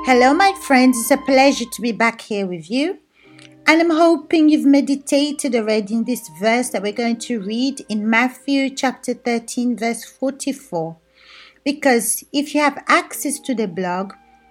Hello, my friends. It's a pleasure to be back here with you. And I'm hoping you've meditated already in this verse that we're going to read in Matthew chapter 13, verse 44. Because if you have access to the blog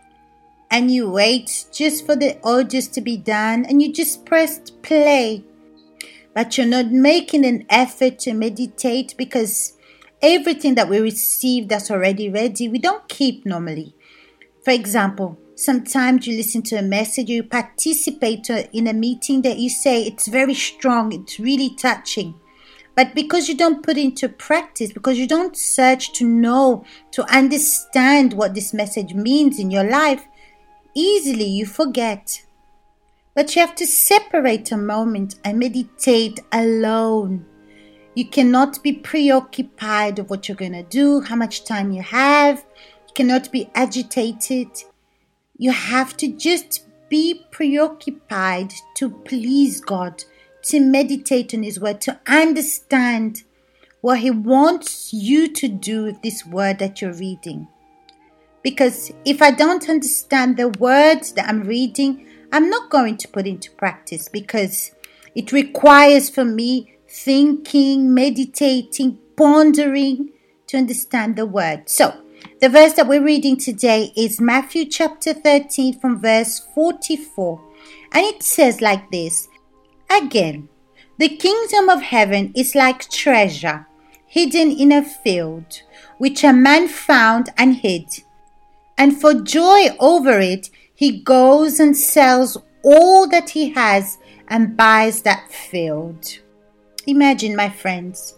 and you wait just for the audios to be done and you just pressed play, but you're not making an effort to meditate because everything that we receive that's already ready, we don't keep normally. For example, sometimes you listen to a message, you participate in a meeting that you say it's very strong, it's really touching. But because you don't put it into practice, because you don't search to know, to understand what this message means in your life, easily you forget. But you have to separate a moment and meditate alone. You cannot be preoccupied of what you're going to do, how much time you have. You cannot be agitated. You have to just be preoccupied to please God, to meditate on His word, to understand what He wants you to do with this word that you're reading. Because if I don't understand the words that I'm reading, I'm not going to put into practice because it requires for me thinking, meditating, pondering to understand the word. So, the verse that we're reading today is Matthew chapter 13 from verse 44. And it says like this: Again, the kingdom of heaven is like treasure hidden in a field, which a man found and hid. And for joy over it, he goes and sells all that he has and buys that field. Imagine, my friends,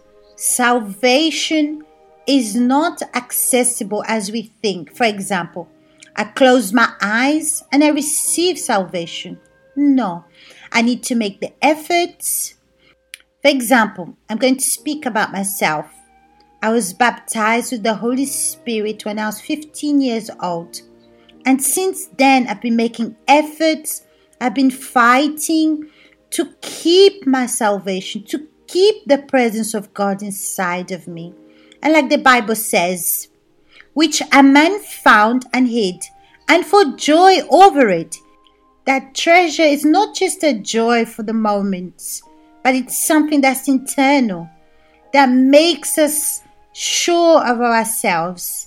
salvation is not accessible as we think. For example, I close my eyes and I receive salvation. No, I need to make the efforts. For example, I'm going to speak about myself. I was baptized with the Holy Spirit when I was 15 years old. And since then, I've been making efforts. I've been fighting to keep my salvation, to keep the presence of God inside of me. And like the Bible says, which a man found and hid, and for joy over it. That treasure is not just a joy for the moments, but it's something that's internal, that makes us sure of ourselves.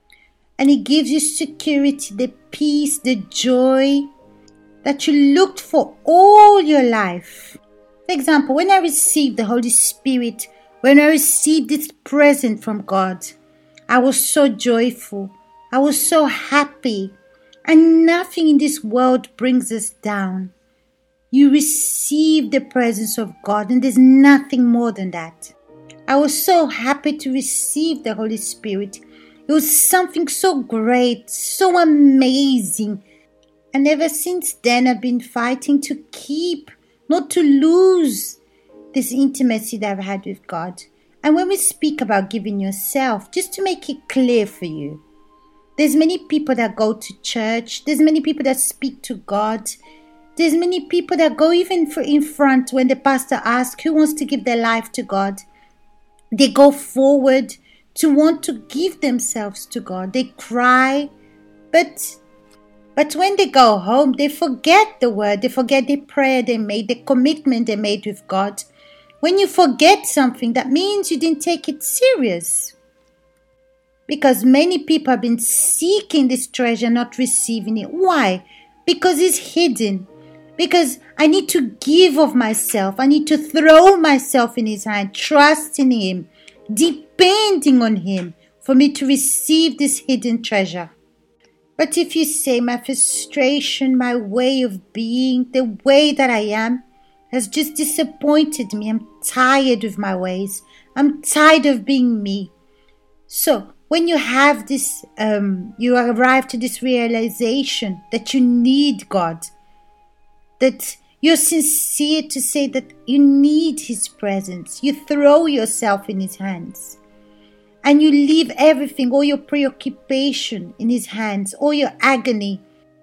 And it gives you security, the peace, the joy that you looked for all your life. For example, when I received the Holy Spirit, when I received this present from God, I was so joyful. I was so happy. And nothing in this world brings us down. You receive the presence of God, and there's nothing more than that. I was so happy to receive the Holy Spirit. It was something so great, so amazing. And ever since then, I've been fighting to keep, not to lose this intimacy that I've had with God. And when we speak about giving yourself, just to make it clear for you, there's many people that go to church. There's many people that speak to God. There's many people that go even in front when the pastor asks who wants to give their life to God. They go forward to want to give themselves to God. They cry, but when they go home, they forget the word. They forget the prayer they made, the commitment they made with God. When you forget something, that means you didn't take it serious. Because many people have been seeking this treasure, not receiving it. Why? Because it's hidden. Because I need to give of myself. I need to throw myself in His hand, trusting Him, depending on Him for me to receive this hidden treasure. But if you say my frustration, my way of being, the way that I am, has just disappointed me. I'm tired of my ways. I'm tired of being me. So when you have this, you arrive to this realization that you need God, that you're sincere to say that you need His presence. You throw yourself in His hands. And you leave everything, all your preoccupation in His hands, all your agony,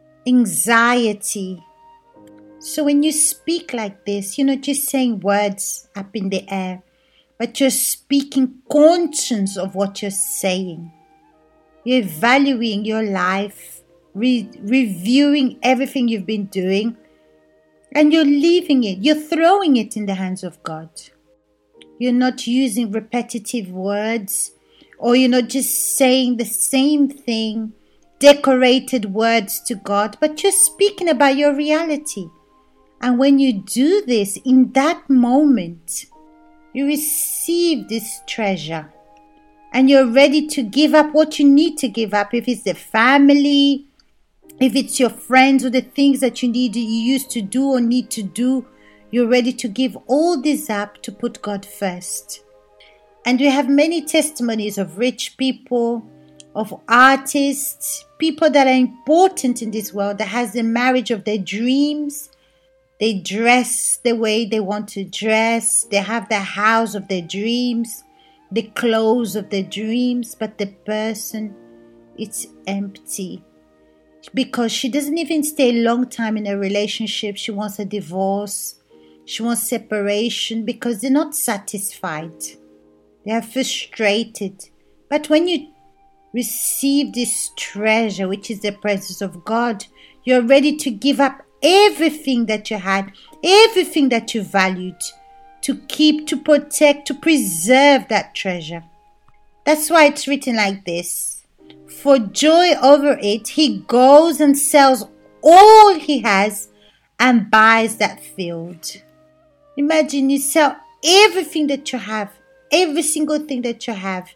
anxiety. So when you speak like this, you're not just saying words up in the air, but you're speaking conscience of what you're saying. You're valuing your life reviewing everything you've been doing, and you're leaving it. You're throwing it in the hands of God. You're not using repetitive words, or you're not just saying the same thing, decorated words to God, but you're speaking about your reality. And when you do this, in that moment, you receive this treasure. And you're ready to give up what you need to give up. If it's the family, if it's your friends, or the things that you used to do or need to do, you're ready to give all this up to put God first. And we have many testimonies of rich people, of artists, people that are important in this world, that has the marriage of their dreams. They dress the way they want to dress. They have the house of their dreams, the clothes of their dreams, but the person, it's empty. Because she doesn't even stay a long time in a relationship. She wants a divorce. She wants separation because they're not satisfied. They are frustrated. But when you receive this treasure, which is the presence of God, you're ready to give up everything that you had, everything that you valued, to keep, to protect, to preserve that treasure. That's why it's written like this. For joy over it, he goes and sells all he has and buys that field. Imagine you sell everything that you have, every single thing that you have,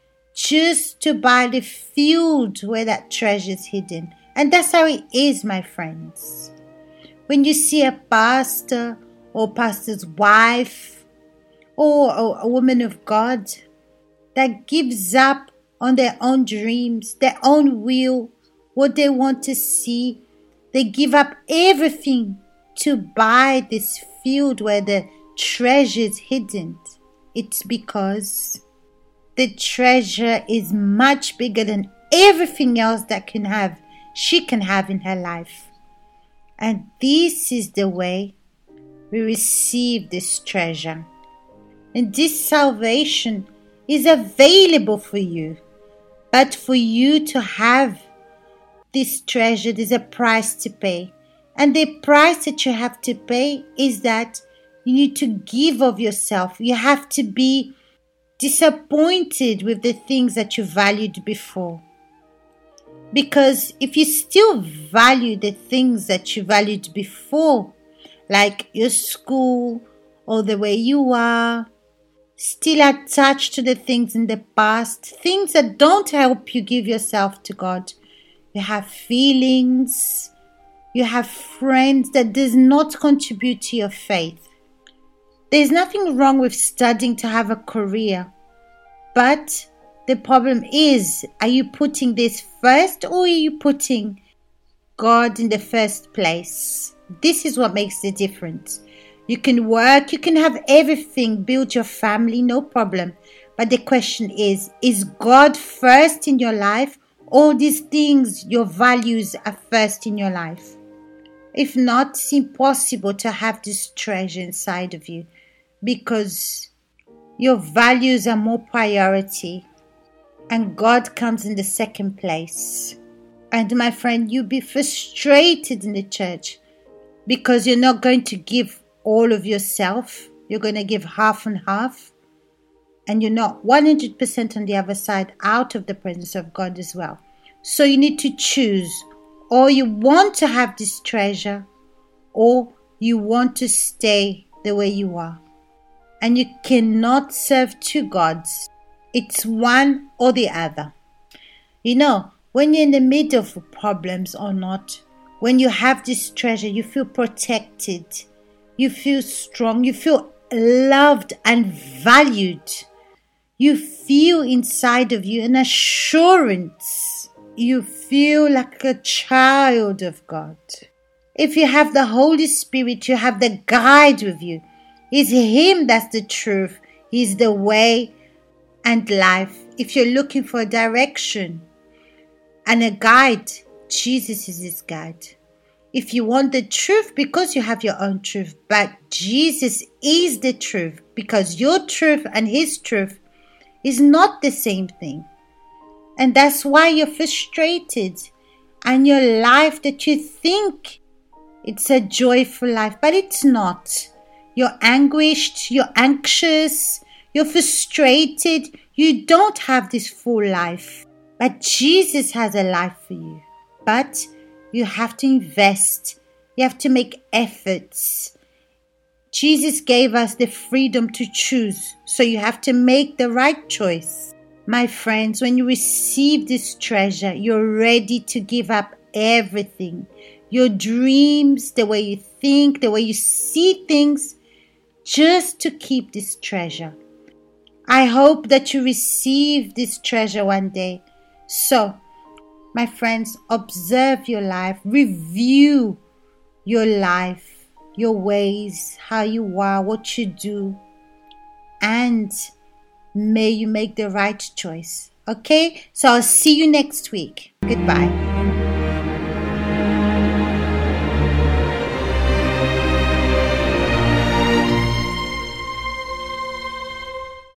just to buy the field where that treasure is hidden. And that's how it is, my friends. When you see a pastor or pastor's wife or a woman of God that gives up on their own dreams, their own will, what they want to see, they give up everything to buy this field where the treasure is hidden. It's because the treasure is much bigger than everything else that she can have in her life. And this is the way we receive this treasure. And this salvation is available for you. But for you to have this treasure, there's a price to pay. And the price that you have to pay is that you need to give of yourself. You have to be disappointed with the things that you valued before. Because if you still value the things that you valued before, like your school or the way you are, still attached to the things in the past, things that don't help you give yourself to God. You have feelings, you have friends that does not contribute to your faith. There's nothing wrong with studying to have a career, but the problem is, are you putting this first or are you putting God in the first place? This is what makes the difference. You can work, you can have everything, build your family, no problem. But the question is God first in your life, or these things, your values are first in your life? If not, it's impossible to have this treasure inside of you because your values are more priority and God comes in the second place. And my friend, you'll be frustrated in the church because you're not going to give all of yourself. You're going to give half and half. And you're not 100% on the other side, out of the presence of God as well. So you need to choose. Or you want to have this treasure, or you want to stay the way you are. And you cannot serve two gods. It's one or the other. You know, when you're in the middle of problems or not, when you have this treasure, you feel protected. You feel strong. You feel loved and valued. You feel inside of you an assurance. You feel like a child of God. If you have the Holy Spirit, you have the guide with you. It's Him that's the truth. He's the way and life. If you're looking for a direction and a guide, Jesus is His guide. If you want the truth, because you have your own truth, but Jesus is the truth, because your truth and His truth is not the same thing. And that's why you're frustrated. and your life that you think it's a joyful life, but it's not. You're anguished, you're anxious, you're frustrated. You don't have this full life. But Jesus has a life for you. But you have to invest. You have to make efforts. Jesus gave us the freedom to choose. So you have to make the right choice. My friends, when you receive this treasure, you're ready to give up everything. Your dreams, the way you think, the way you see things, just to keep this treasure. I hope that you receive this treasure one day. So, my friends, observe your life, review your life, your ways, how you are, what you do, and may you make the right choice. Okay? So I'll see you next week. Goodbye.